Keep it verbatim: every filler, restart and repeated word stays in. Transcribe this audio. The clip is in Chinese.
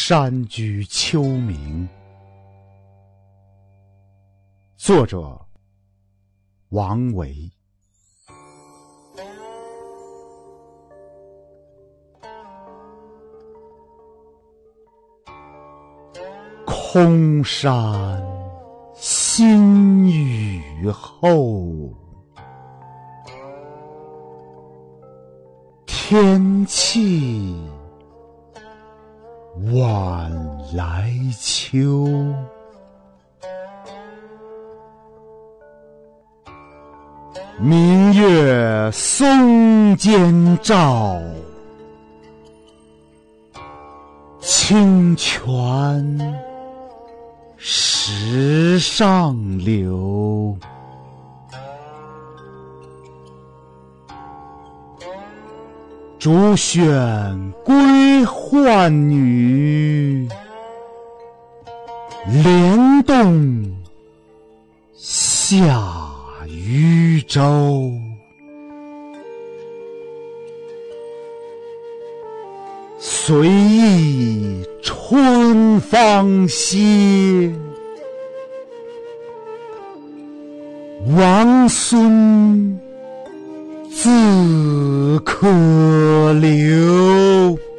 山居秋暝。作者王维。空山新雨后，天气晚来秋。明月松间照，清泉石上流。竹喧归浣女，莲动下渔舟。随意春芳歇，王孙自可留。